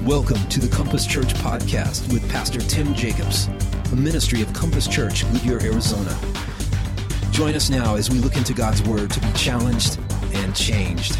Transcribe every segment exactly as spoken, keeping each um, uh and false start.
Welcome to the Compass Church Podcast with Pastor Tim Jacobs, a ministry of Compass Church, Goodyear, Arizona. Join us now as we look into God's Word to be challenged and changed.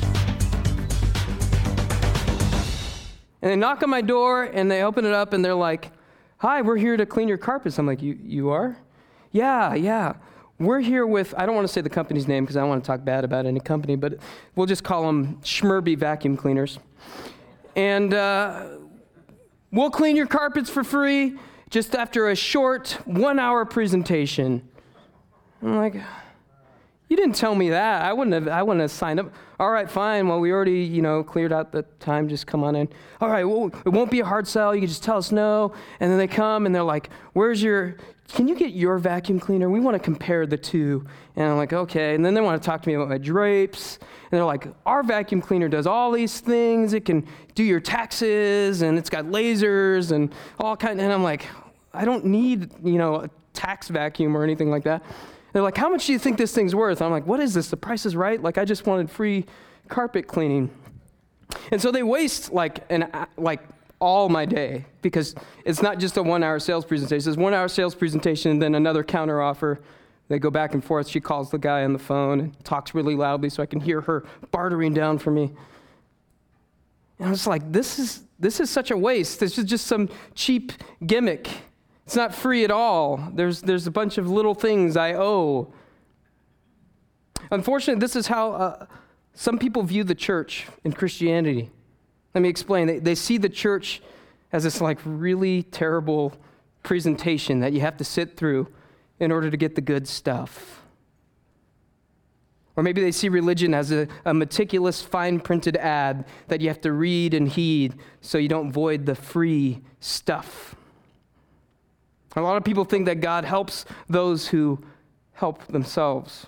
And they knock on my door, and they open it up, and they're like, "Hi, we're here to clean your carpets." I'm like, "You you are?" "Yeah, yeah. We're here with," I don't want to say the company's name because I don't want to talk bad about any company, but we'll just call them Schmerby Vacuum Cleaners. And uh, we'll clean your carpets for free just after a short one-hour presentation. I'm like, "You didn't tell me that. I wouldn't have. I wouldn't have signed up." "All right, fine. Well, we already, you know, cleared out the time. Just come on in." "All right. Well, it won't be a hard sell. You can just tell us no." And then they come and they're like, "Where's your? Can you get your vacuum cleaner? We want to compare the two." And I'm like, "Okay." And then they want to talk to me about my drapes. And they're like, "Our vacuum cleaner does all these things. It can do your taxes, and it's got lasers and all kind." And I'm like, "I don't need, you know, a tax vacuum or anything like that." They're like, "How much do you think this thing's worth?" I'm like, "What is this? The price is right? Like, I just wanted free carpet cleaning." And so they waste like an like all my day, because it's not just a one-hour sales presentation. It's one-hour sales presentation and then another counter offer. They go back and forth. She calls the guy on the phone and talks really loudly so I can hear her bartering down for me. And I was like, this is this is such a waste. This is just some cheap gimmick. It's not free at all. There's there's a bunch of little things I owe. Unfortunately, this is how uh, some people view the church in Christianity. Let me explain. They, they see the church as this like really terrible presentation that you have to sit through in order to get the good stuff. Or maybe they see religion as a, a meticulous, fine-printed ad that you have to read and heed so you don't void the free stuff. A lot of people think that God helps those who help themselves,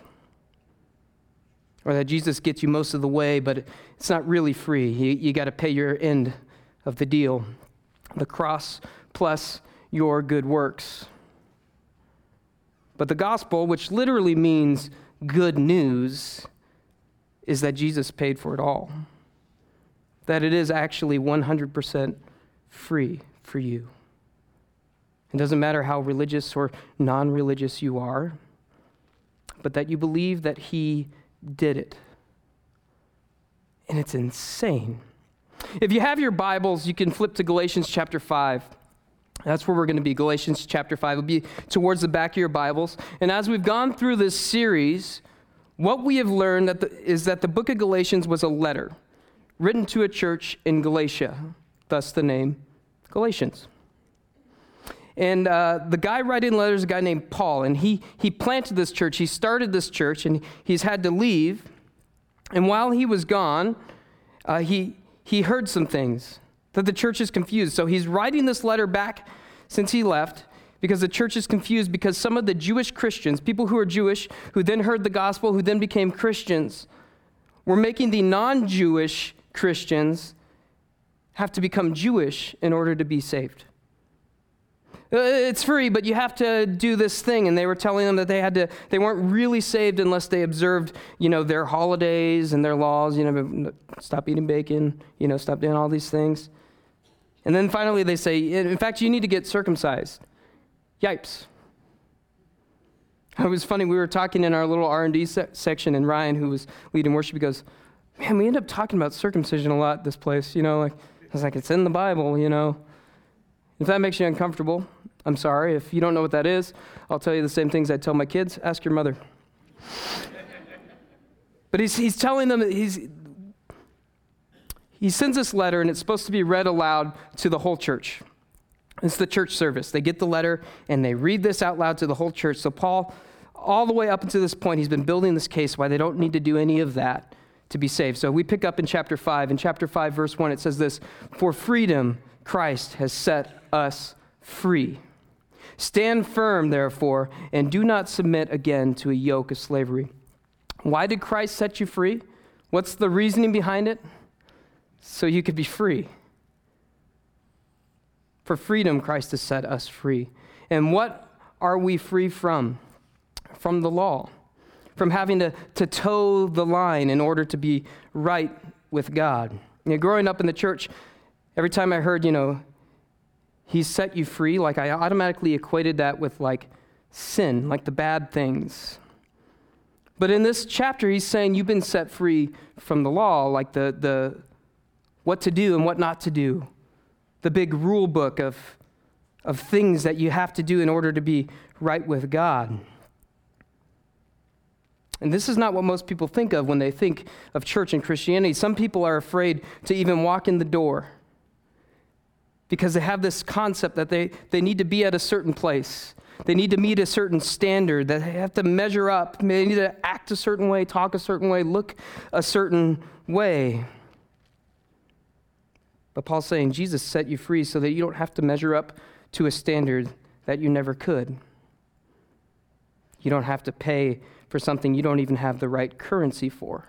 or that Jesus gets you most of the way, but it's not really free. You, you got to pay your end of the deal, the cross plus your good works. But the gospel, which literally means good news, is that Jesus paid for it all, that it is actually one hundred percent free for you. It doesn't matter how religious or non-religious you are, but that you believe that he did it. And it's insane. If you have your Bibles, you can flip to Galatians chapter five. That's where we're going to be, Galatians chapter five. It'll be towards the back of your Bibles. And as we've gone through this series, what we have learned that the, is that the book of Galatians was a letter written to a church in Galatia, thus the name Galatians. And uh, the guy writing letters is a guy named Paul, and he he planted this church. He started this church, and he's had to leave. And while he was gone, uh, he he heard some things, that the church is confused. So he's writing this letter back since he left, because the church is confused because some of the Jewish Christians, people who are Jewish, who then heard the gospel, who then became Christians, were making the non-Jewish Christians have to become Jewish in order to be saved. It's free, but you have to do this thing. And they were telling them that they had to, they weren't really saved unless they observed, you know, their holidays and their laws, you know, stop eating bacon, you know, stop doing all these things. And then finally they say, in fact, you need to get circumcised. Yipes. It was funny, we were talking in our little R and D se- section, and Ryan, who was leading worship, he goes, "Man, we end up talking about circumcision a lot this place, you know, like, I was like, it's in the Bible, you know. If that makes you uncomfortable, I'm sorry. If you don't know what that is, I'll tell you the same things I tell my kids. Ask your mother." But he's he's telling them that he's he sends this letter, and it's supposed to be read aloud to the whole church. It's the church service. They get the letter, and they read this out loud to the whole church. So Paul, all the way up until this point, he's been building this case why they don't need to do any of that to be saved. So we pick up in chapter five. In chapter five, verse one, it says this: "For freedom Christ has set us free. Stand firm, therefore, and do not submit again to a yoke of slavery." Why did Christ set you free? What's the reasoning behind it? So you could be free. For freedom, Christ has set us free. And what are we free from? From the law. From having to, to toe the line in order to be right with God. You know, growing up in the church, Every time I heard, you know, He's set you free, like I automatically equated that with like sin, like the bad things. But in this chapter, he's saying you've been set free from the law, like the, the what to do and what not to do, the big rule book of, of things that you have to do in order to be right with God. And this is not what most people think of when they think of church and Christianity. Some people are afraid to even walk in the door because they have this concept that they, they need to be at a certain place. They need to meet a certain standard, that they have to measure up. They need to act a certain way, talk a certain way, look a certain way. But Paul's saying Jesus set you free so that you don't have to measure up to a standard that you never could. You don't have to pay for something you don't even have the right currency for.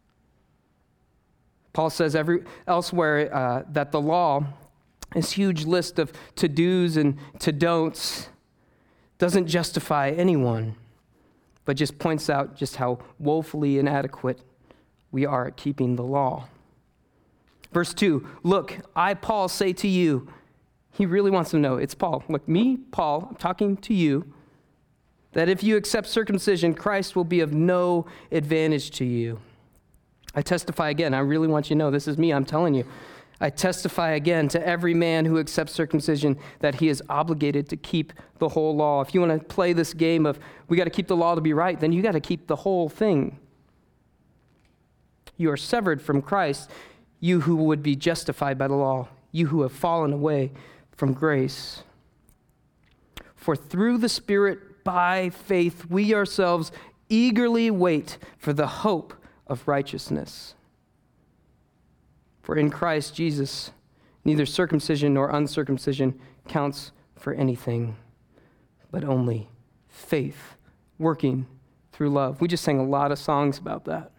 Paul says every, elsewhere uh, that the law, this huge list of to-dos and to-don'ts, doesn't justify anyone, but just points out just how woefully inadequate we are at keeping the law. Verse two, look, I, Paul, say to you, he really wants to know, it's Paul. Look, me, Paul, I'm talking to you, that if you accept circumcision, Christ will be of no advantage to you. I testify again, I really want you to know, this is me, I'm telling you. I testify again to every man who accepts circumcision that he is obligated to keep the whole law. If you want to play this game of we got to keep the law to be right, then you got to keep the whole thing. You are severed from Christ, you who would be justified by the law, you who have fallen away from grace. For through the Spirit, by faith, we ourselves eagerly wait for the hope of righteousness. For in Christ Jesus, neither circumcision nor uncircumcision counts for anything, but only faith working through love. We just sang a lot of songs about that.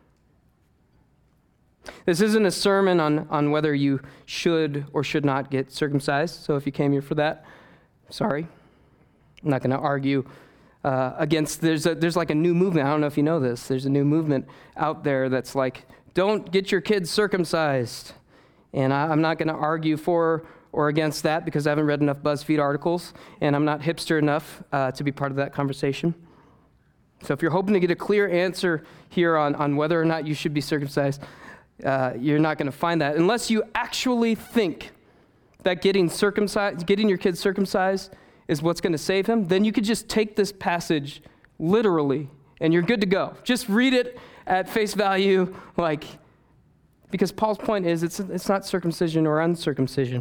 This isn't a sermon on, on whether you should or should not get circumcised, so if you came here for that, sorry. I'm not going to argue uh, against, there's, a, there's like a new movement, I don't know if you know this, there's a new movement out there that's like, don't get your kids circumcised. And I, I'm not going to argue for or against that because I haven't read enough BuzzFeed articles, and I'm not hipster enough uh, to be part of that conversation. So if you're hoping to get a clear answer here on, on whether or not you should be circumcised, uh, you're not going to find that unless you actually think that getting circumcised, getting your kids circumcised is what's going to save him. Then you could just take this passage literally, and you're good to go. Just read it at face value, like, because Paul's point is it's it's not circumcision or uncircumcision.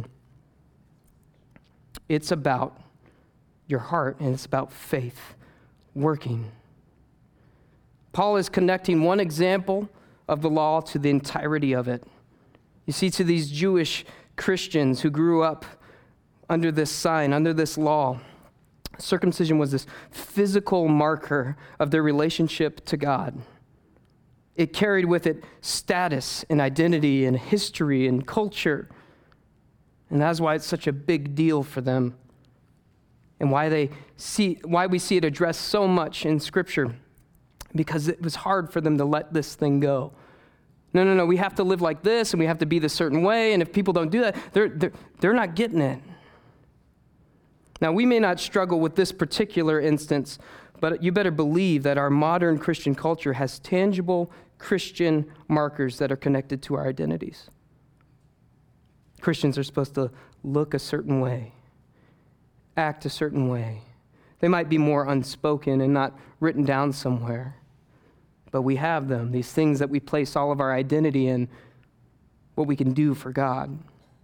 It's about your heart, and it's about faith working. Paul is connecting one example of the law to the entirety of it. You see, to these Jewish Christians who grew up under this sign, under this law, circumcision was this physical marker of their relationship to God. It carried with it status and identity and history and culture. And that's why it's such a big deal for them. And why they see why we see it addressed so much in Scripture. Because it was hard for them to let this thing go. No, no, no, we have to live like this and we have to be this certain way, and if people don't do that, they're they're, they're not getting it. Now, we may not struggle with this particular instance, but you better believe that our modern Christian culture has tangible Christian markers that are connected to our identities. Christians are supposed to look a certain way, act a certain way. They might be more unspoken and not written down somewhere, but we have them, these things that we place all of our identity in, what we can do for God.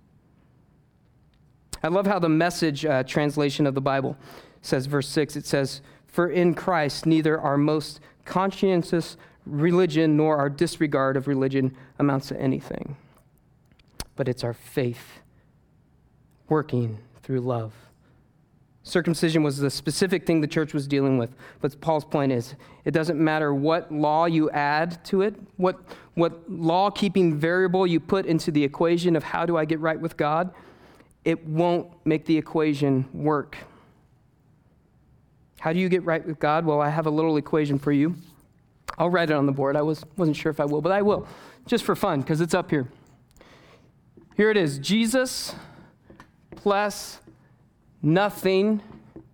I love how the Message uh, translation of the Bible says, verse six, it says, "For in Christ neither our most conscientious religion nor our disregard of religion amounts to anything, but it's our faith working through love." Circumcision was the specific thing the church was dealing with, but Paul's point is, it doesn't matter what law you add to it, what, what law-keeping variable you put into the equation of how do I get right with God, it won't make the equation work. How do you get right with God? Well, I have a little equation for you. I'll write it on the board. I was, wasn't sure if I will, but I will, just for fun, because it's up here. Here it is. Jesus plus nothing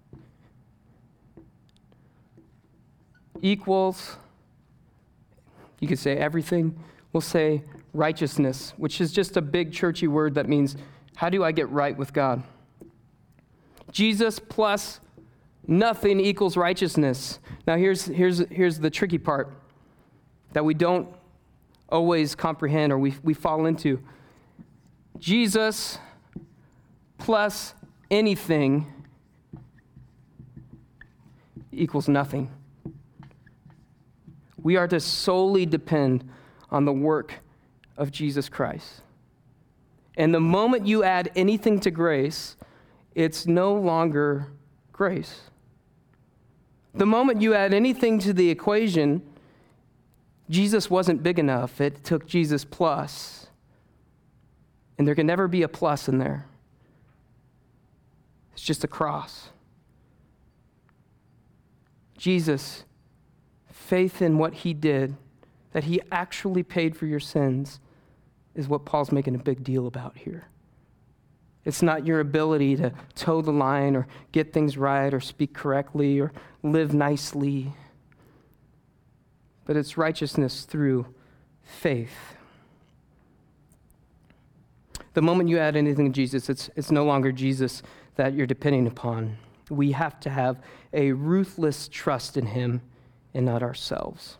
equals, you could say everything. We'll say righteousness, which is just a big churchy word that means, how do I get right with God? Jesus plus nothing equals righteousness. Now here's, here's, here's the tricky part that we don't always comprehend or we, we fall into. Jesus plus anything equals nothing. We are to solely depend on the work of Jesus Christ. And the moment you add anything to grace, it's no longer grace. The moment you add anything to the equation, Jesus wasn't big enough. It took Jesus plus. And there can never be a plus in there. It's just a cross. Jesus, faith in what he did, that he actually paid for your sins, is what Paul's making a big deal about here. It's not your ability to toe the line or get things right or speak correctly or live nicely, but it's righteousness through faith. The moment you add anything to Jesus, it's, it's no longer Jesus that you're depending upon. We have to have a ruthless trust in him and not ourselves.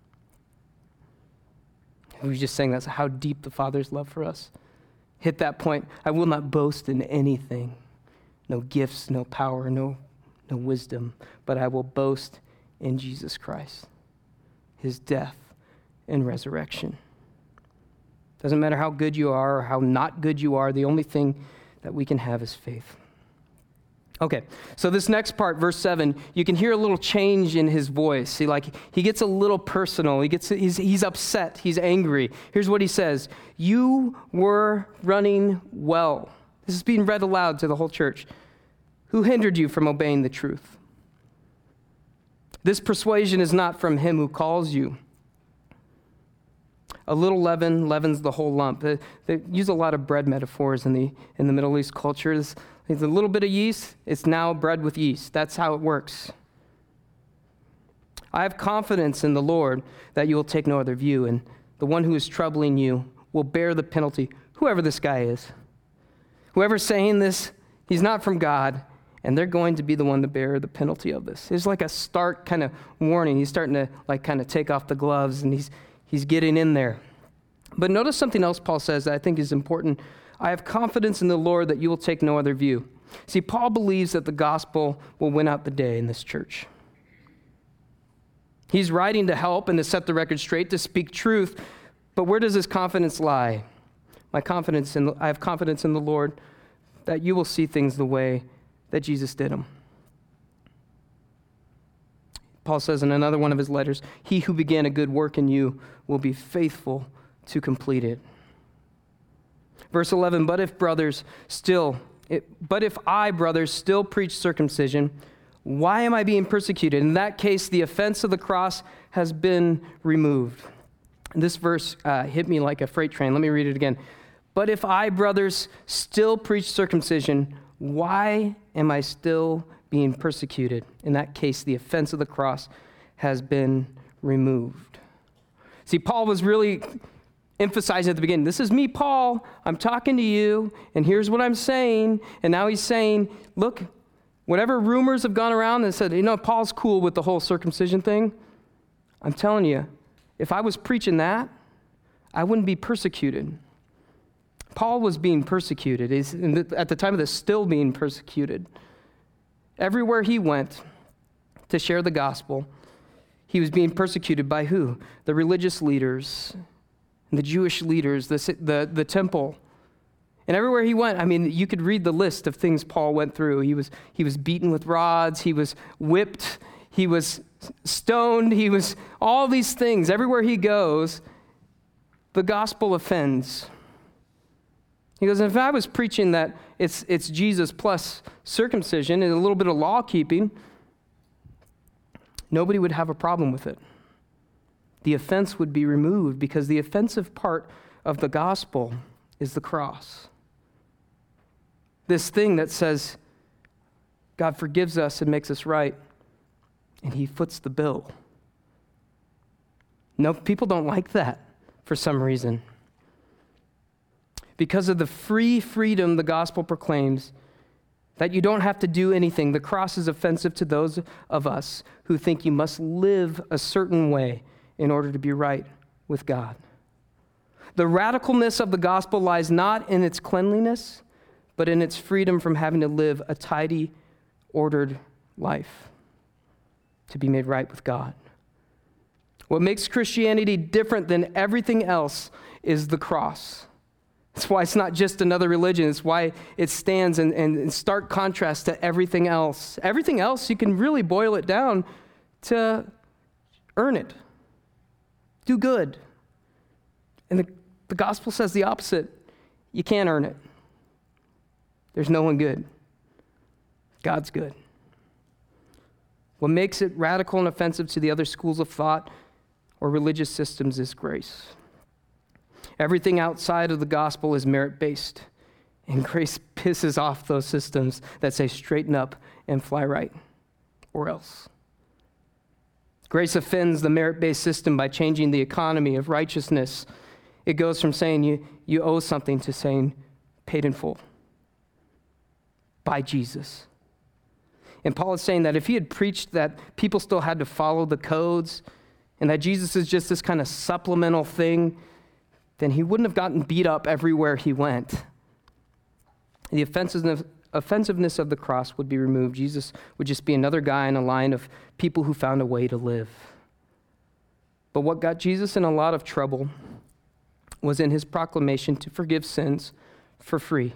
We just sang that's how deep the Father's love for us. Hit that point. I will not boast in anything. No gifts, no power, no, no wisdom, but I will boast in Jesus Christ, his death and resurrection. Doesn't matter how good you are or how not good you are, the only thing that we can have is faith. Okay, so this next part, verse seven, you can hear a little change in his voice. See, like he gets a little personal. He gets he's, he's upset. He's angry. Here's what he says. You were running well. This is being read aloud to the whole church. Who hindered you from obeying the truth? This persuasion is not from him who calls you. A little leaven leavens the whole lump. They, they use a lot of bread metaphors in the in the Middle East culture. There's, there's a little bit of yeast. It's now bread with yeast. That's how it works. I have confidence in the Lord that you will take no other view, and the one who is troubling you will bear the penalty, whoever this guy is. Whoever's saying this, he's not from God, and they're going to be the one to bear the penalty of this. It's like a stark kind of warning. He's starting to like kind of take off the gloves, and he's He's getting in there. But notice something else Paul says that I think is important. I have confidence in the Lord that you will take no other view. See, Paul believes that the gospel will win out the day in this church. He's writing to help and to set the record straight, to speak truth. But where does his confidence lie? My confidence in, I have confidence in the Lord that you will see things the way that Jesus did them. Paul says in another one of his letters, he who began a good work in you will be faithful to complete it. Verse eleven, but if brothers still, it, but if I, brothers, still preach circumcision, why am I being persecuted? In that case, the offense of the cross has been removed. This verse uh, hit me like a freight train. Let me read it again. But if I, brothers, still preach circumcision, why am I still being persecuted? In that case, the offense of the cross has been removed. See, Paul was really emphasizing at the beginning, this is me, Paul. I'm talking to you, and here's what I'm saying. And now he's saying, look, whatever rumors have gone around that said, you know, Paul's cool with the whole circumcision thing. I'm telling you, if I was preaching that, I wouldn't be persecuted. Paul was being persecuted. He's, at the time of this, still being persecuted. Everywhere he went to share the gospel, he was being persecuted by who? The religious leaders, the Jewish leaders, the, the, the temple. And everywhere he went, I mean, you could read the list of things Paul went through. He was, he was beaten with rods. He was whipped. He was stoned. He was all these things. Everywhere he goes, the gospel offends. He goes, if I was preaching that it's it's Jesus plus circumcision and a little bit of law keeping, nobody would have a problem with it. The offense would be removed because the offensive part of the gospel is the cross. This thing that says God forgives us and makes us right, and he foots the bill. No, people don't like that for some reason. Because of the free freedom the gospel proclaims, that you don't have to do anything, the cross is offensive to those of us who think you must live a certain way in order to be right with God. The radicalness of the gospel lies not in its cleanliness, but in its freedom from having to live a tidy, ordered life to be made right with God. What makes Christianity different than everything else is the cross. That's why it's not just another religion. It's why it stands in, in, in stark contrast to everything else. Everything else, you can really boil it down to earn it. Do good. And the, the gospel says the opposite. You can't earn it. There's no one good. God's good. What makes it radical and offensive to the other schools of thought or religious systems is grace. Everything outside of the gospel is merit-based, and grace pisses off those systems that say straighten up and fly right, or else. Grace offends the merit-based system by changing the economy of righteousness. It goes from saying you, you owe something to saying paid in full by Jesus. And Paul is saying that if he had preached that people still had to follow the codes and that Jesus is just this kind of supplemental thing, then he wouldn't have gotten beat up everywhere he went. The offensiveness, offensiveness of the cross would be removed. Jesus would just be another guy in a line of people who found a way to live. But what got Jesus in a lot of trouble was in his proclamation to forgive sins for free.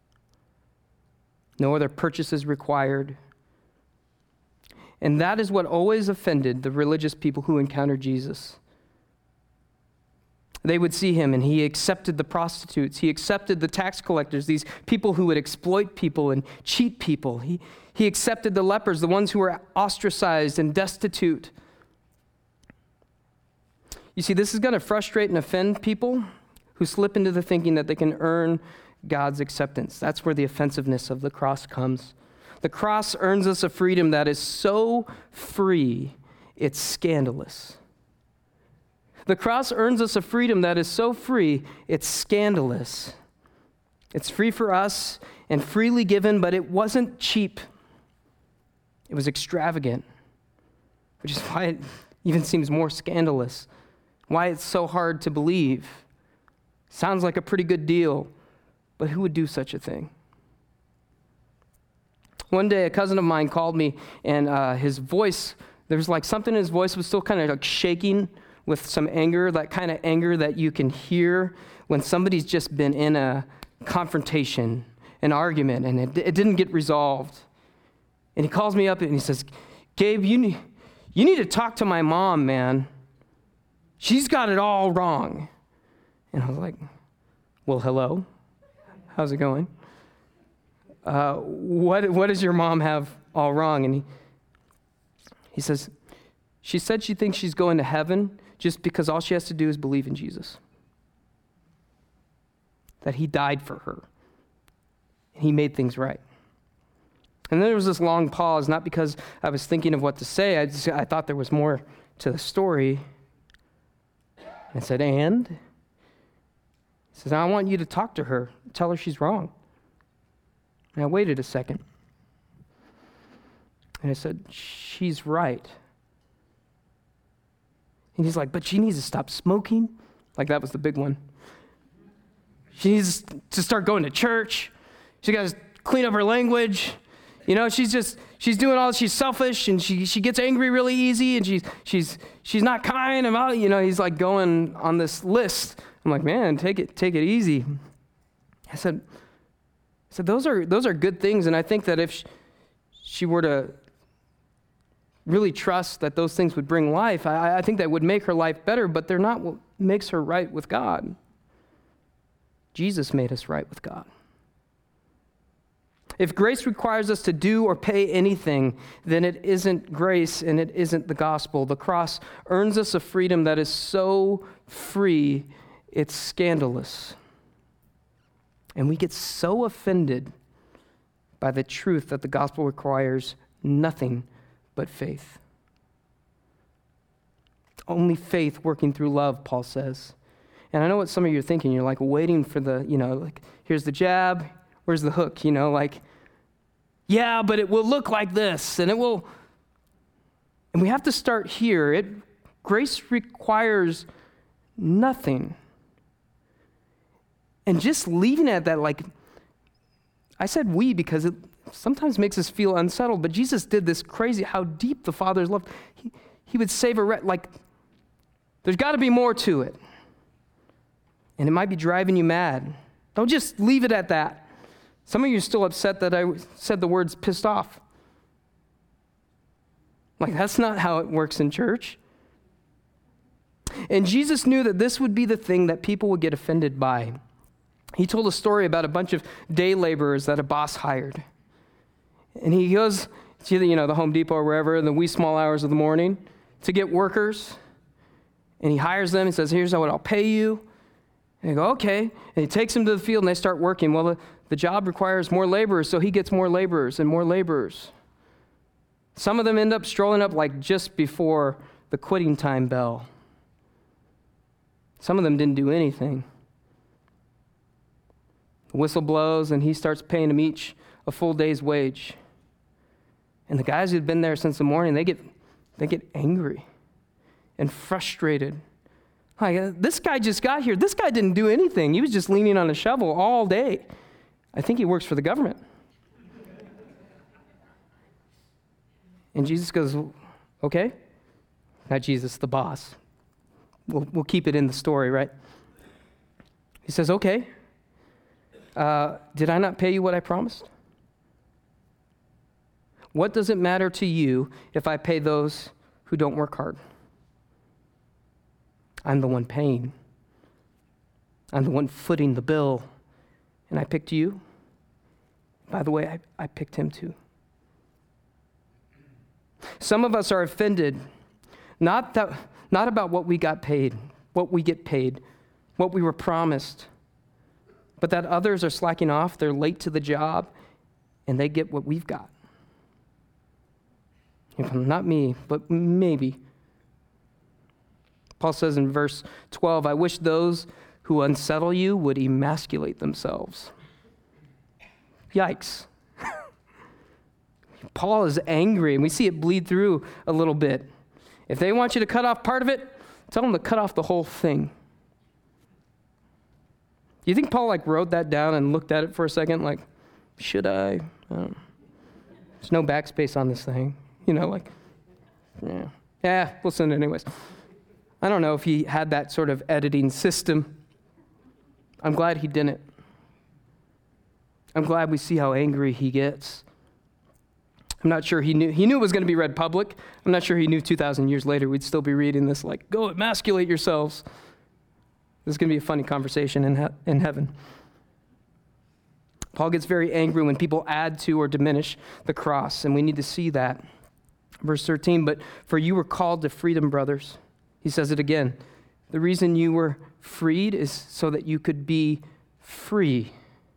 No other purchases required. And that is what always offended the religious people who encountered Jesus. They would see him, and he accepted the prostitutes. He accepted the tax collectors, these people who would exploit people and cheat people. He, he accepted the lepers, the ones who were ostracized and destitute. You see, this is going to frustrate and offend people who slip into the thinking that they can earn God's acceptance. That's where the offensiveness of the cross comes. The cross earns us a freedom that is so free, it's scandalous. The cross earns us a freedom that is so free, it's scandalous. It's free for us and freely given, but it wasn't cheap. It was extravagant, which is why it even seems more scandalous, why it's so hard to believe. Sounds like a pretty good deal, but who would do such a thing? One day, a cousin of mine called me, and uh, his voice, there was like something in his voice was still kind of like shaking with some anger, that kind of anger that you can hear when somebody's just been in a confrontation, an argument, and it, it didn't get resolved. And he calls me up and he says, Gabe, you need, you need to talk to my mom, man. She's got it all wrong. And I was like, well, hello. How's it going? Uh, what what does your mom have all wrong? And he, he says, she said she thinks she's going to heaven just because all she has to do is believe in Jesus. That he died for her. And he made things right. And then there was this long pause, not because I was thinking of what to say. I, just, I thought there was more to the story. I said, and? He says, I want you to talk to her. Tell her she's wrong. And I waited a second. And I said, she's right. And he's like, but she needs to stop smoking. Like that was the big one. She needs to start going to church. She got to clean up her language. You know, she's just, she's doing all, she's selfish, and she she gets angry really easy, and she's she's she's not kind about, you know, he's like going on this list. I'm like, man, take it, take it easy. I said, I said, those are those are good things, and I think that if she, she were to really trust that those things would bring life, I, I think that would make her life better, but they're not what makes her right with God. Jesus made us right with God. If grace requires us to do or pay anything, then it isn't grace and it isn't the gospel. The cross earns us a freedom that is so free, it's scandalous. And we get so offended by the truth that the gospel requires nothing but faith. Only faith working through love, Paul says. And I know what some of you are thinking. You're like waiting for the, you know, like, here's the jab, where's the hook? You know, like, yeah, but it will look like this, and it will. And we have to start here. It grace requires nothing. And just leaving it at that, like, I said we because it sometimes makes us feel unsettled, but Jesus did this crazy, how deep the Father's love. He, he would save a wretch, like, there's got to be more to it. And it might be driving you mad. Don't just leave it at that. Some of you are still upset that I said the words pissed off. Like, that's not how it works in church. And Jesus knew that this would be the thing that people would get offended by. He told a story about a bunch of day laborers that a boss hired. And he goes to, you know, the Home Depot or wherever in the wee small hours of the morning to get workers. And he hires them and says, here's what I'll pay you. And they go, okay. And he takes them to the field and they start working. Well, the, the job requires more laborers, so he gets more laborers and more laborers. Some of them end up strolling up like just before the quitting time bell. Some of them didn't do anything. The whistle blows and he starts paying them each a full day's wage. And the guys who'd been there since the morning, they get they get angry and frustrated. Like, this guy just got here. This guy didn't do anything. He was just leaning on a shovel all day. I think he works for the government. And Jesus goes, okay. Not Jesus, the boss. We'll, we'll keep it in the story, right? He says, okay. Uh, did I not pay you what I promised? What does it matter to you if I pay those who don't work hard? I'm the one paying. I'm the one footing the bill. And I picked you. By the way, I, I picked him too. Some of us are offended, not that, not about what we got paid, what we get paid, what we were promised, but that others are slacking off, they're late to the job, and they get what we've got. Not me, but maybe. Paul says in verse twelve, I wish those who unsettle you would emasculate themselves. Yikes. Paul is angry, and we see it bleed through a little bit. If they want you to cut off part of it, tell them to cut off the whole thing. Do you think Paul like wrote that down and looked at it for a second? Like, should I? I don't know. There's no backspace on this thing. You know, like, yeah. Yeah, we'll send it anyways. I don't know if he had that sort of editing system. I'm glad he didn't. I'm glad we see how angry he gets. I'm not sure he knew. He knew it was going to be read public. I'm not sure he knew two thousand years later we'd still be reading this like, go emasculate yourselves. This is going to be a funny conversation in, he- in heaven. Paul gets very angry when people add to or diminish the cross, and we need to see that. Verse thirteen, but for you were called to freedom, brothers. He says it again. The reason you were freed is so that you could be free.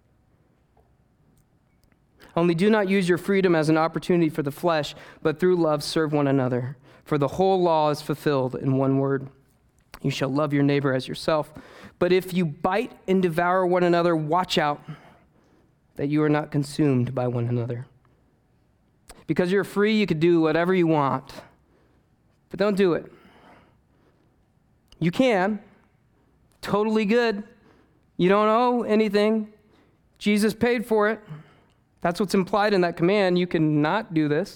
Only do not use your freedom as an opportunity for the flesh, but through love serve one another. For the whole law is fulfilled in one word. You shall love your neighbor as yourself. But if you bite and devour one another, watch out that you are not consumed by one another. Because you're free, you can do whatever you want. But don't do it. You can. Totally good. You don't owe anything. Jesus paid for it. That's what's implied in that command. You cannot do this.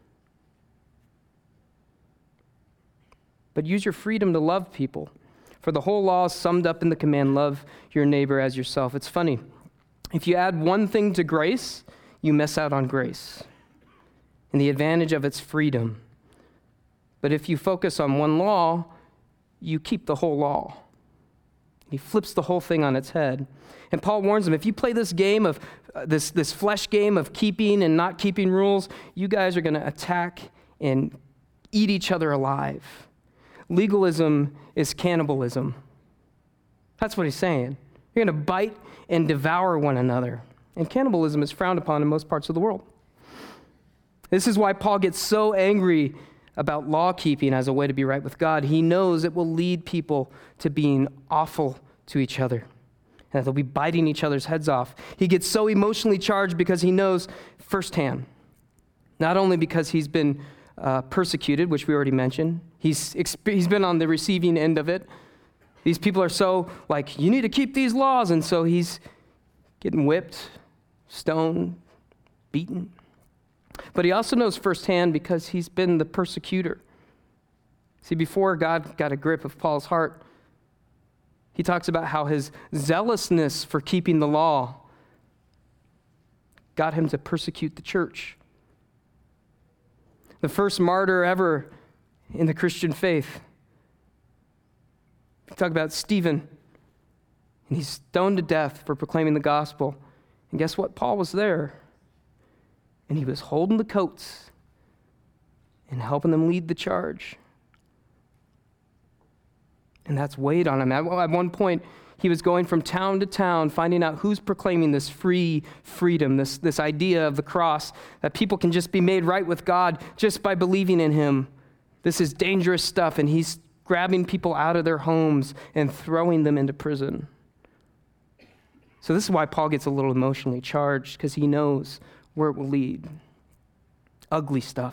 But use your freedom to love people. For the whole law is summed up in the command, love your neighbor as yourself. It's funny. If you add one thing to grace, you miss out on grace and the advantage of its freedom. But if you focus on one law, you keep the whole law. He flips the whole thing on its head. And Paul warns them, if you play this game of, uh, this, this flesh game of keeping and not keeping rules, you guys are going to attack and eat each other alive. Legalism is cannibalism. That's what he's saying. You're You're going to bite and devour one another. And cannibalism is frowned upon in most parts of the world. This is why Paul gets so angry about law keeping as a way to be right with God. He knows it will lead people to being awful to each other, and they'll be biting each other's heads off. He gets so emotionally charged because he knows firsthand, not only because he's been uh, persecuted, which we already mentioned, he's, exp- he's been on the receiving end of it. These people are so like, you need to keep these laws, and so he's getting whipped, stoned, beaten. But he also knows firsthand because he's been the persecutor. See, before God got a grip of Paul's heart, he talks about how his zealousness for keeping the law got him to persecute the church. The first martyr ever in the Christian faith. We talk about Stephen, and he's stoned to death for proclaiming the gospel. And guess what? Paul was there. And he was holding the coats and helping them lead the charge. And that's weighed on him. At, at one point, he was going from town to town, finding out who's proclaiming this free freedom, this, this idea of the cross, that people can just be made right with God just by believing in him. This is dangerous stuff, and he's grabbing people out of their homes and throwing them into prison. So this is why Paul gets a little emotionally charged, because he knows where it will lead. Ugly stuff.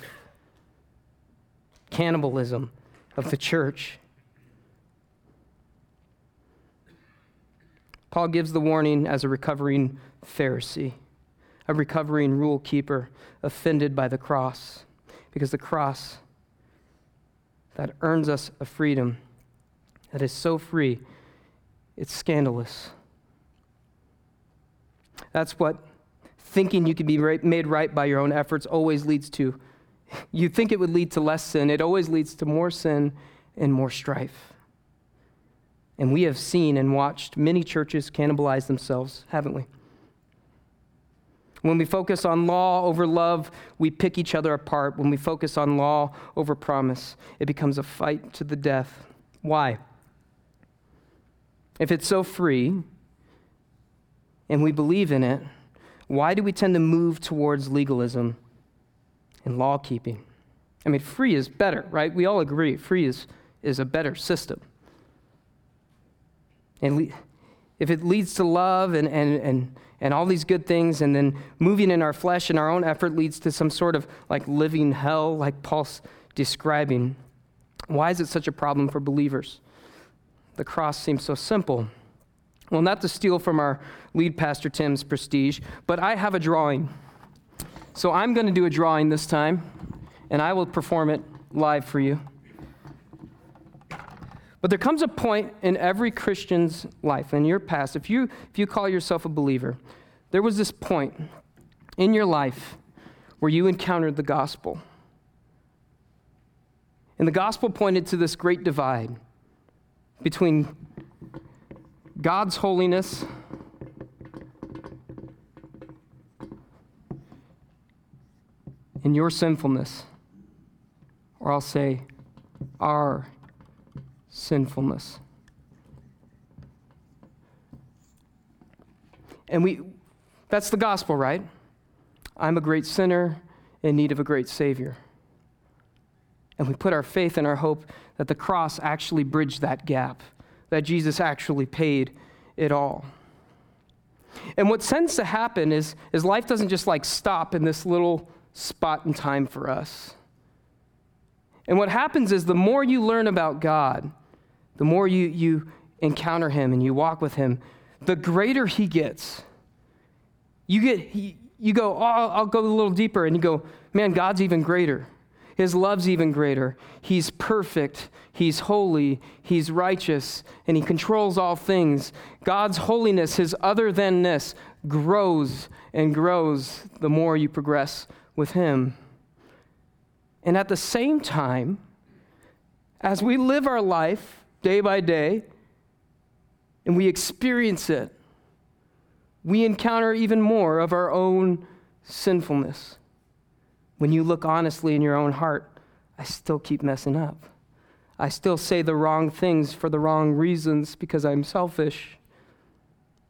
Cannibalism of the church. Paul gives the warning as a recovering Pharisee, a recovering rule keeper, offended by the cross, because the cross that earns us a freedom that is so free, it's scandalous. That's what thinking you can be right, made right by your own efforts always leads to. You think it would lead to less sin. It always leads to more sin and more strife. And we have seen and watched many churches cannibalize themselves, haven't we? When we focus on law over love, we pick each other apart. When we focus on law over promise, it becomes a fight to the death. Why? If it's so free and we believe in it, why do we tend to move towards legalism and law keeping? I mean, free is better, right? We all agree free is, is a better system. And le- if it leads to love and, and, and, and all these good things, and then moving in our flesh and our own effort leads to some sort of like living hell, like Paul's describing, why is it such a problem for believers? The cross seems so simple. Well, not to steal from our lead pastor Tim's prestige, but I have a drawing. So I'm going to do a drawing this time, and I will perform it live for you. But there comes a point in every Christian's life, in your past, if you if you call yourself a believer, there was this point in your life where you encountered the gospel. And the gospel pointed to this great divide between God's holiness and your sinfulness, or I'll say our sinfulness. And we that's the gospel, right? I'm a great sinner in need of a great Savior. And we put our faith and our hope that the cross actually bridged that gap, that Jesus actually paid it all. And what tends to happen is, is life doesn't just like stop in this little spot in time for us. And what happens is the more you learn about God, the more you, you encounter him and you walk with him, the greater he gets. You get, you go, oh, I'll go a little deeper, and you go, man, God's even greater. His love's even greater. He's perfect. He's holy. He's righteous. And he controls all things. God's holiness, his other than-ness, grows and grows the more you progress with him. And at the same time, as we live our life day by day, and we experience it, we encounter even more of our own sinfulness. When you look honestly in your own heart, I still keep messing up. I still say the wrong things for the wrong reasons because I'm selfish.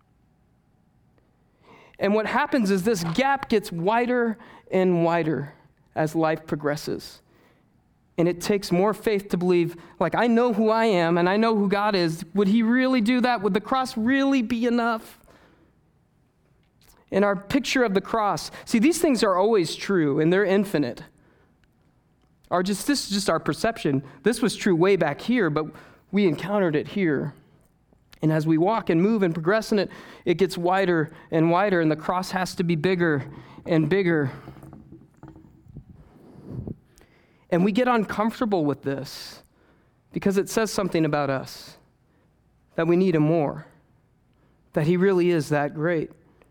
And what happens is this gap gets wider and wider as life progresses. And it takes more faith to believe, like, I know who I am and I know who God is. Would he really do that? Would the cross really be enough? In our picture of the cross, see, these things are always true and they're infinite. Our just, this is just our perception. This was true way back here, but we encountered it here. And as we walk and move and progress in it, it gets wider and wider, and the cross has to be bigger and bigger. And we get uncomfortable with this because it says something about us, that we need him more, that he really is that great.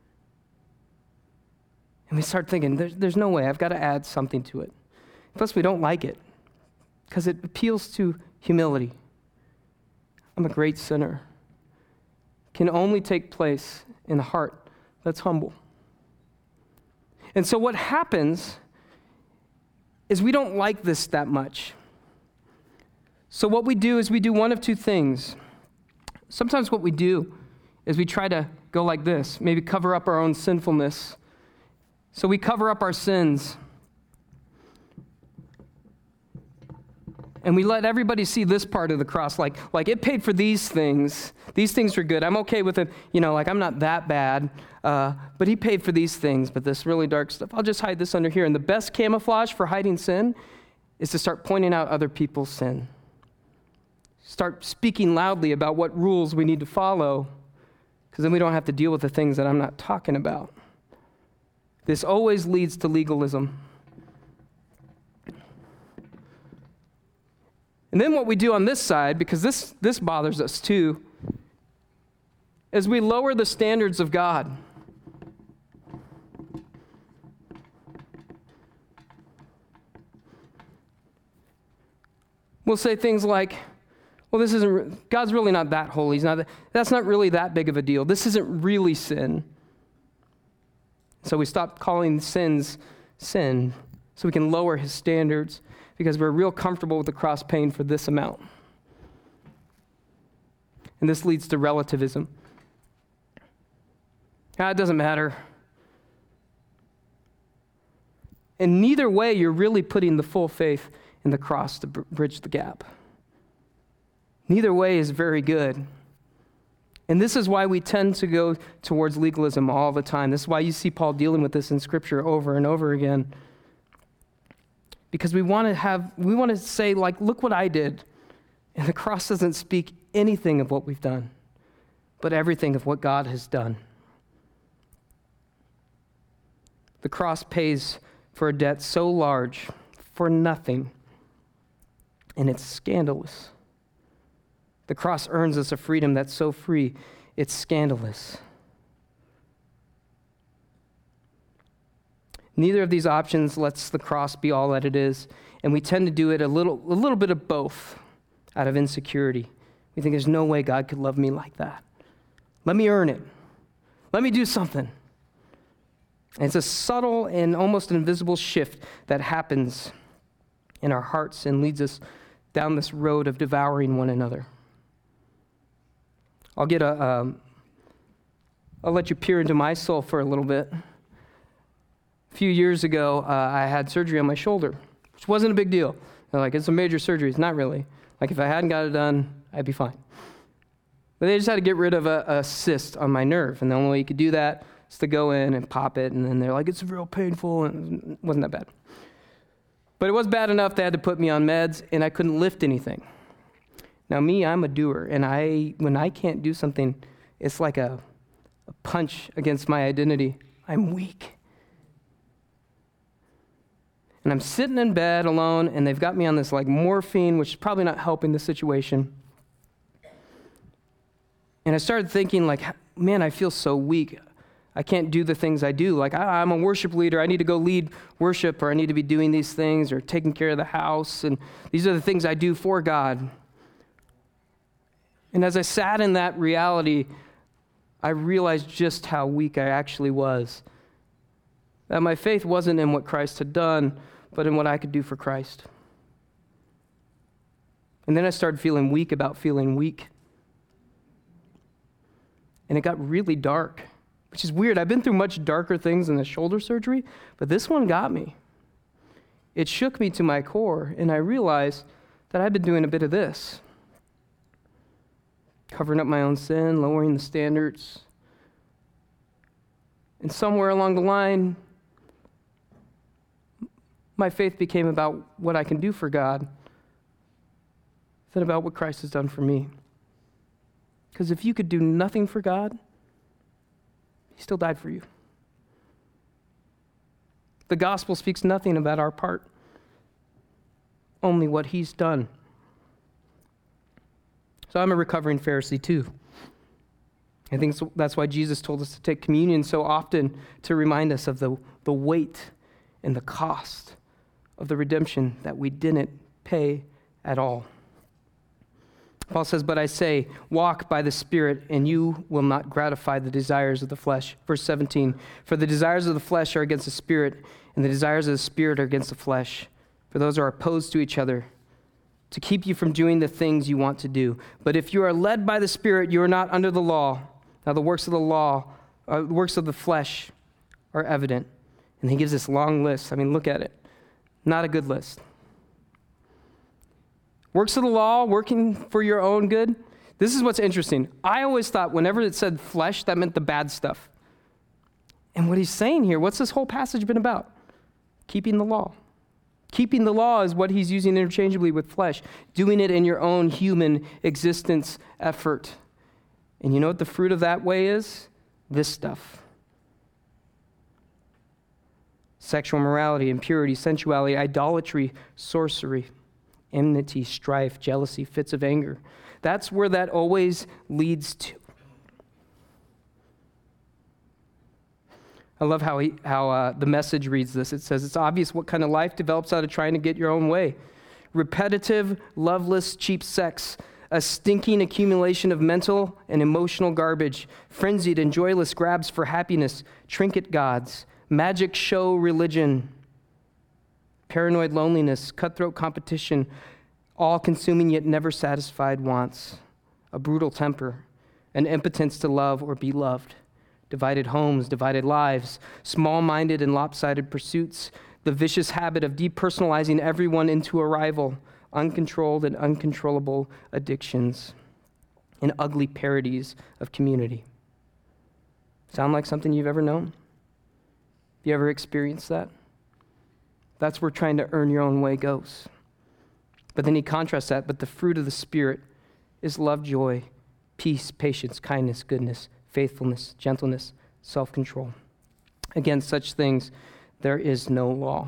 And we start thinking, there's, there's no way, I've got to add something to it. Plus, we don't like it because it appeals to humility. I'm a great sinner. Can only take place in a heart that's humble. And so what happens is we don't like this that much. So what we do is we do one of two things. Sometimes what we do is we try to go like this, maybe cover up our own sinfulness. So we cover up our sins. And we let everybody see this part of the cross, like, like it paid for these things. These things were good. I'm okay with it. You know, like I'm not that bad. Uh, but he paid for these things. But this really dark stuff, I'll just hide this under here. And the best camouflage for hiding sin is to start pointing out other people's sin. Start speaking loudly about what rules we need to follow, because then we don't have to deal with the things that I'm not talking about. This always leads to legalism. And then what we do on this side, because this, this bothers us too, is we lower the standards of God. We'll say things like, well, this isn't, God's really not that holy. He's not that, that's not really that big of a deal. This isn't really sin. So we stop calling sins sin so we can lower his standards, because we're real comfortable with the cross paying for this amount. And this leads to relativism. Ah, it doesn't matter. And neither way, you're really putting the full faith in the cross to br- bridge the gap. Neither way is very good. And this is why we tend to go towards legalism all the time. This is why you see Paul dealing with this in Scripture over and over again. Because we want to have, we want to say, like, look what I did. And the cross doesn't speak anything of what we've done, but everything of what God has done. The cross pays for a debt so large for nothing, and it's scandalous. The cross earns us a freedom that's so free, it's scandalous. Neither of these options lets the cross be all that it is, and we tend to do it a little, a little bit of both out of insecurity. We think there's no way God could love me like that. Let me earn it. Let me do something. And it's a subtle and almost invisible shift that happens in our hearts and leads us down this road of devouring one another. I'll get a, um, I'll let you peer into my soul for a little bit. A few years ago, uh, I had surgery on my shoulder, which wasn't a big deal. They're like, it's a major surgery. It's not really. Like, if I hadn't got it done, I'd be fine. But they just had to get rid of a, a cyst on my nerve, and the only way you could do that is to go in and pop it, and then they're like, it's real painful, and it wasn't that bad. But it was bad enough they had to put me on meds, and I couldn't lift anything. Now, me, I'm a doer, and I when I can't do something, it's like a, a punch against my identity. I'm weak. And I'm sitting in bed alone, and they've got me on this like morphine, which is probably not helping the situation. And I started thinking, like, man, I feel so weak. I can't do the things I do. Like, I, I'm a worship leader. I need to go lead worship, or I need to be doing these things, or taking care of the house. And these are the things I do for God. And as I sat in that reality, I realized just how weak I actually was. That my faith wasn't in what Christ had done, but in what I could do for Christ. And then I started feeling weak about feeling weak. And it got really dark which is weird. I've been through much darker things than the shoulder surgery, but this one got me. It shook me to my core, and I realized that I've been doing a bit of this. Covering up my own sin, lowering the standards. And somewhere along the line, my faith became about what I can do for God than about what Christ has done for me. Because if you could do nothing for God, he still died for you. The gospel speaks nothing about our part, only what he's done. So I'm a recovering Pharisee too. I think that's why Jesus told us to take communion so often, to remind us of the, the weight and the cost of the redemption that we didn't pay at all. Paul says, but I say, walk by the Spirit, and you will not gratify the desires of the flesh. Verse seventeen, for the desires of the flesh are against the Spirit, and the desires of the Spirit are against the flesh. For those are opposed to each other, to keep you from doing the things you want to do. But if you are led by the Spirit, you are not under the law. Now the works of the law, uh, the works of the flesh are evident. And he gives this long list. I mean, look at it. Not a good list. Works of the law, working for your own good. This is what's interesting. I always thought whenever it said flesh, that meant the bad stuff. And what he's saying here, what's this whole passage been about? Keeping the law. Keeping the law is what he's using interchangeably with flesh. Doing it in your own human existence effort. And you know what the fruit of that way is? This stuff. Sexual morality, impurity, sensuality, idolatry, sorcery, enmity, strife, jealousy, fits of anger. That's where that always leads to. I love how he, how uh, the Message reads this. It says, it's obvious what kind of life develops out of trying to get your own way. Repetitive, loveless, cheap sex, a stinking accumulation of mental and emotional garbage, frenzied and joyless grabs for happiness, trinket gods, magic show religion, paranoid loneliness, cutthroat competition, all-consuming yet never satisfied wants, a brutal temper, an impotence to love or be loved, divided homes, divided lives, small-minded and lopsided pursuits, the vicious habit of depersonalizing everyone into a rival, uncontrolled and uncontrollable addictions, and ugly parodies of community. Sound like something you've ever known? You ever experienced that? That's where trying to earn your own way goes. But then he contrasts that, but the fruit of the Spirit is love, joy, peace, patience, kindness, goodness, faithfulness, gentleness, self-control. Against such things, there is no law.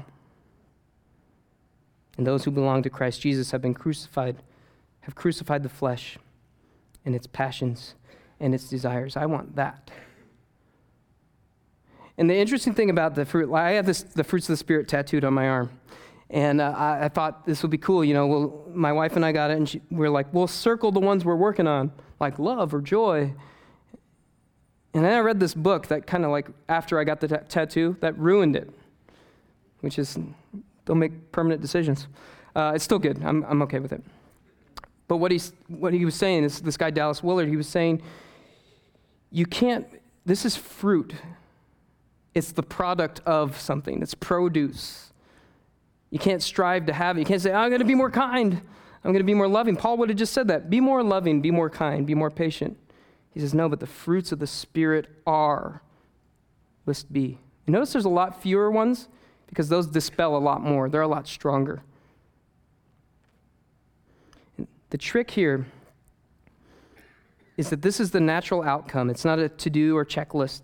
And those who belong to Christ Jesus have been crucified, have crucified the flesh and its passions and its desires. I want that. And the interesting thing about the fruit, I have this, the fruits of the Spirit tattooed on my arm. And uh, I, I thought this would be cool. You know, well, my wife and I got it, and she, we we're like, we'll circle the ones we're working on, like love or joy. And then I read this book that kind of like, after I got the t- tattoo, that ruined it, which is, don't make permanent decisions. Uh, it's still good. I'm I'm okay with it. But what he's what he was saying is, this guy Dallas Willard, he was saying, you can't, this is fruit. It's the product of something. It's produce. You can't strive to have it. You can't say, I'm going to be more kind. I'm going to be more loving. Paul would have just said that. Be more loving, be more kind, be more patient. He says, no, but the fruits of the Spirit are, list B. You notice there's a lot fewer ones because those dispel a lot more. They're a lot stronger. And the trick here is that this is the natural outcome. It's not a to-do or checklist.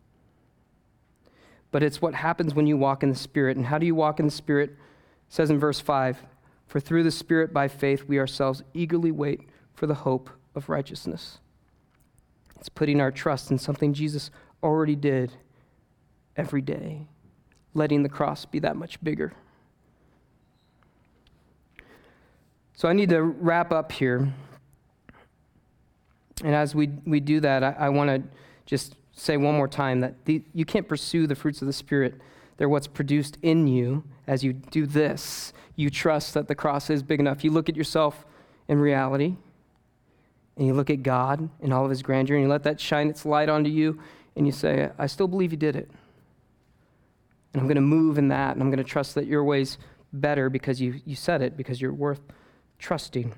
But it's what happens when you walk in the Spirit. And how do you walk in the Spirit? It says in verse five, for through the Spirit by faith we ourselves eagerly wait for the hope of righteousness. It's putting our trust in something Jesus already did every day, letting the cross be that much bigger. So I need to wrap up here. And as we, we do that, I, I want to just say one more time that the, you can't pursue the fruits of the Spirit. They're what's produced in you as you do this. You trust that the cross is big enough. You look at yourself in reality, and you look at God in all of his grandeur, and you let that shine its light onto you, and you say, I still believe you did it. And I'm going to move in that, and I'm going to trust that your way's better because you, you said it, because you're worth trusting.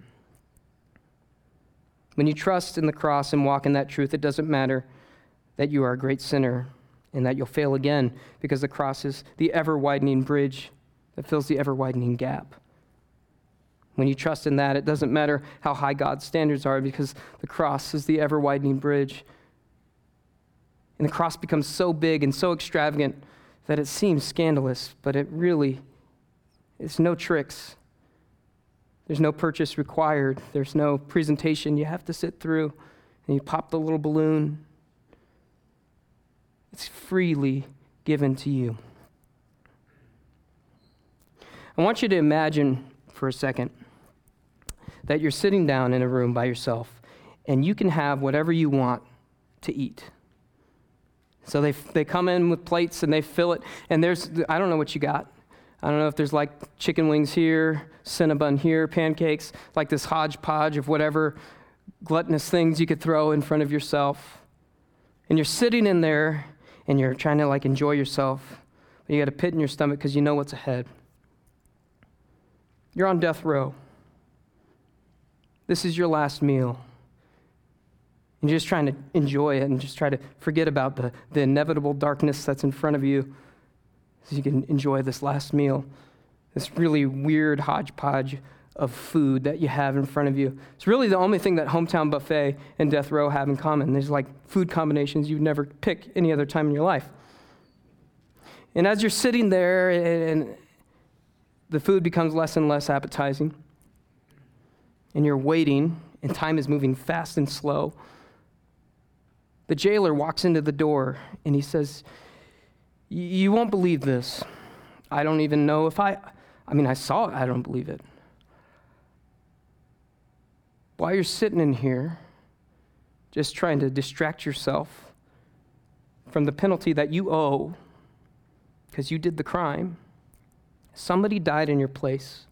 When you trust in the cross and walk in that truth, it doesn't matter that you are a great sinner and that you'll fail again, because the cross is the ever-widening bridge that fills the ever-widening gap. When you trust in that, it doesn't matter how high God's standards are, because the cross is the ever-widening bridge. And the cross becomes so big and so extravagant that it seems scandalous, but it really, it's no tricks. There's no purchase required. There's no presentation you have to sit through, and you pop the little balloon. It's freely given to you. I want you to imagine for a second that you're sitting down in a room by yourself, and you can have whatever you want to eat. So they they come in with plates and they fill it, and there's, I don't know what you got. I don't know if there's like chicken wings here, Cinnabon here, pancakes, like this hodgepodge of whatever gluttonous things you could throw in front of yourself. And you're sitting in there and you're trying to like enjoy yourself, but you got a pit in your stomach because you know what's ahead. You're on death row. This is your last meal. And you're just trying to enjoy it and just try to forget about the, the inevitable darkness that's in front of you so you can enjoy this last meal, this really weird hodgepodge of food that you have in front of you. It's really the only thing that Hometown Buffet and Death Row have in common. There's like food combinations you'd never pick any other time in your life. And as you're sitting there and the food becomes less and less appetizing, and you're waiting, and time is moving fast and slow, the jailer walks into the door and he says, you won't believe this. I don't even know if I, I mean, I saw it, I don't believe it. While you're sitting in here, just trying to distract yourself from the penalty that you owe because you did the crime, somebody died in your place.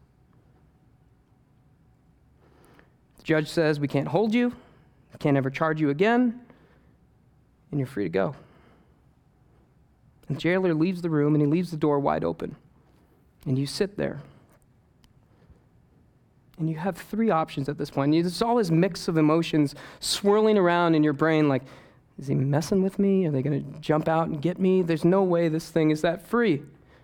The judge says, we can't hold you, we can't ever charge you again, and you're free to go. And the jailer leaves the room, and he leaves the door wide open. And you sit there. And you have three options at this point. And there's all this mix of emotions swirling around in your brain like, is he messing with me? Are they going to jump out and get me? There's no way this thing is that free.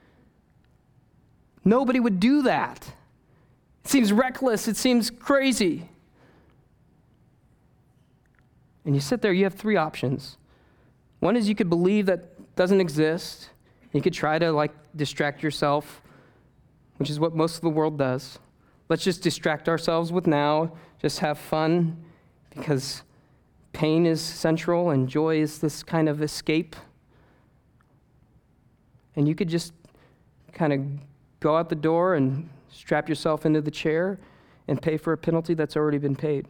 Nobody would do that. It seems reckless. It seems crazy. And you sit there, you have three options. One is you could believe that doesn't exist. You could try to like distract yourself, which is what most of the world does. Let's just distract ourselves with now, just have fun, because pain is central and joy is this kind of escape. And you could just kind of go out the door and strap yourself into the chair and pay for a penalty that's already been paid.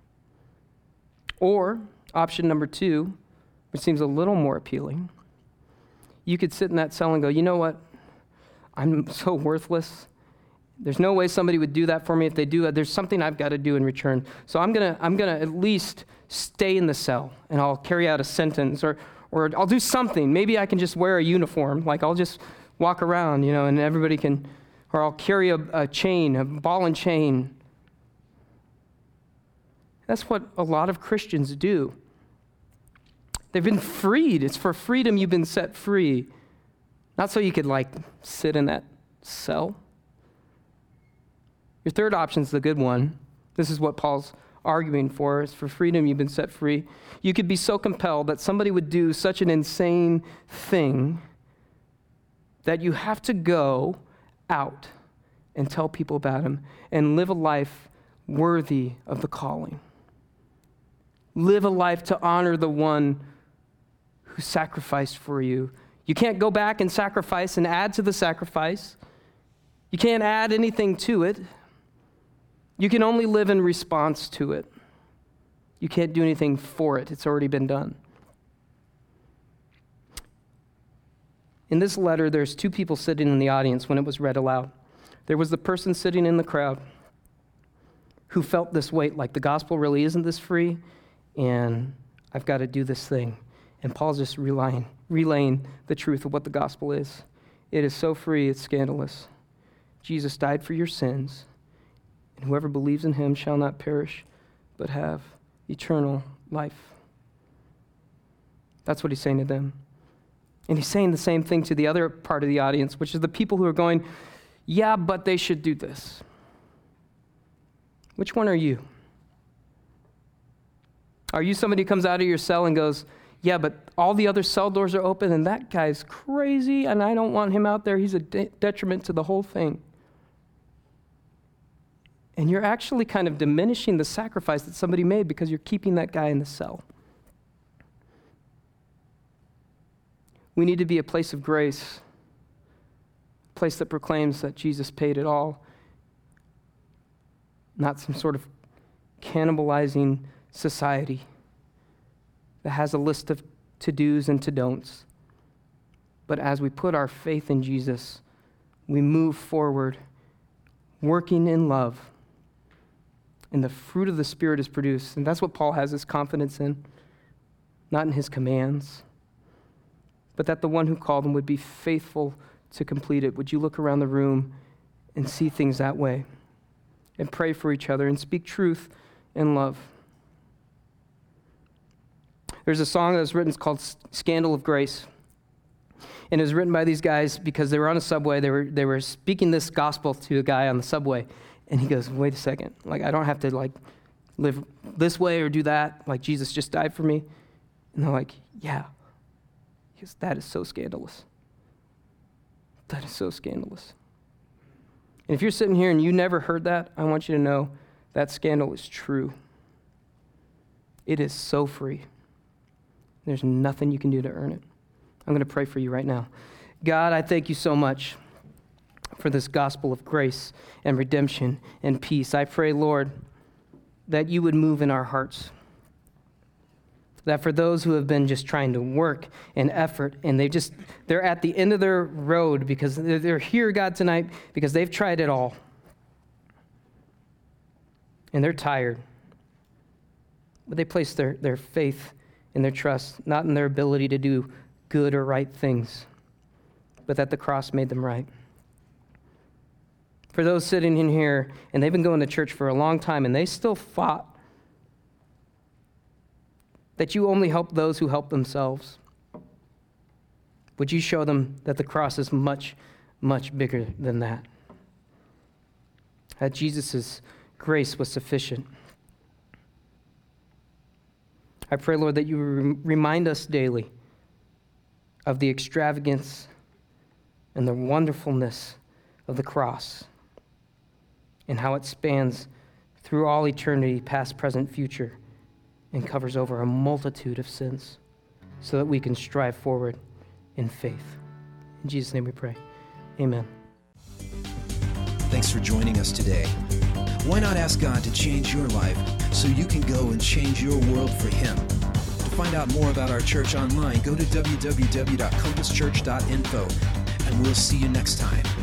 Or option number two, which seems a little more appealing, you could sit in that cell and go, you know what? I'm so worthless. There's no way somebody would do that for me. If they do, there's something I've got to do in return. So I'm gonna, I'm gonna at least stay in the cell, and I'll carry out a sentence, or, or I'll do something. Maybe I can just wear a uniform, like I'll just walk around, you know, and everybody can, or I'll carry a, a chain, a ball and chain. That's what a lot of Christians do. They've been freed. It's for freedom you've been set free. Not so you could like sit in that cell. Your third option is the good one. This is what Paul's arguing for. It's for freedom you've been set free. You could be so compelled that somebody would do such an insane thing that you have to go out and tell people about him and live a life worthy of the calling. Live a life to honor the one who sacrificed for you. You can't go back and sacrifice and add to the sacrifice. You can't add anything to it. You can only live in response to it. You can't do anything for it. It's already been done. In this letter, there's two people sitting in the audience when it was read aloud. There was the person sitting in the crowd who felt this weight, like the gospel really isn't this free, and I've got to do this thing. And Paul's just relaying, relaying the truth of what the gospel is. It is so free, it's scandalous. Jesus died for your sins, and whoever believes in him shall not perish, but have eternal life. That's what he's saying to them. And he's saying the same thing to the other part of the audience, which is the people who are going, yeah, but they should do this. Which one are you? Are you somebody who comes out of your cell and goes, yeah, but all the other cell doors are open and that guy's crazy and I don't want him out there. He's a de- detriment to the whole thing. And you're actually kind of diminishing the sacrifice that somebody made because you're keeping that guy in the cell. We need to be a place of grace, a place that proclaims that Jesus paid it all, not some sort of cannibalizing society that has a list of to-dos and to-don'ts. But as we put our faith in Jesus, we move forward, working in love, and the fruit of the Spirit is produced. And that's what Paul has his confidence in, not in his commands, but that the one who called him would be faithful to complete it. Would you look around the room and see things that way, and pray for each other, and speak truth in love? There's a song that was written, it's called Scandal of Grace. And it was written by these guys because they were on a subway. They were they were speaking this gospel to a guy on the subway. And he goes, wait a second. Like, I don't have to, like, live this way or do that. Like, Jesus just died for me. And they're like, yeah. He goes, that is so scandalous. That is so scandalous. And if you're sitting here and you never heard that, I want you to know that scandal is true. It is so free. There's nothing you can do to earn it. I'm going to pray for you right now. God, I thank you so much for this gospel of grace and redemption and peace. I pray, Lord, that you would move in our hearts. That for those who have been just trying to work and effort, and they just, they're at the end of their road because they're here, God, tonight because they've tried it all. And they're tired. But they place their, their faith and their trust, not in their ability to do good or right things, but that the cross made them right. For those sitting in here, and they've been going to church for a long time, and they still fought that you only help those who help themselves. Would you show them that the cross is much, much bigger than that? That Jesus' grace was sufficient. I pray, Lord, that you remind us daily of the extravagance and the wonderfulness of the cross and how it spans through all eternity, past, present, future, and covers over a multitude of sins so that we can strive forward in faith. In Jesus' name we pray. Amen. Thanks for joining us today. Why not ask God to change your life so you can go and change your world for Him? To find out more about our church online, go to w w w dot compass church dot info, and we'll see you next time.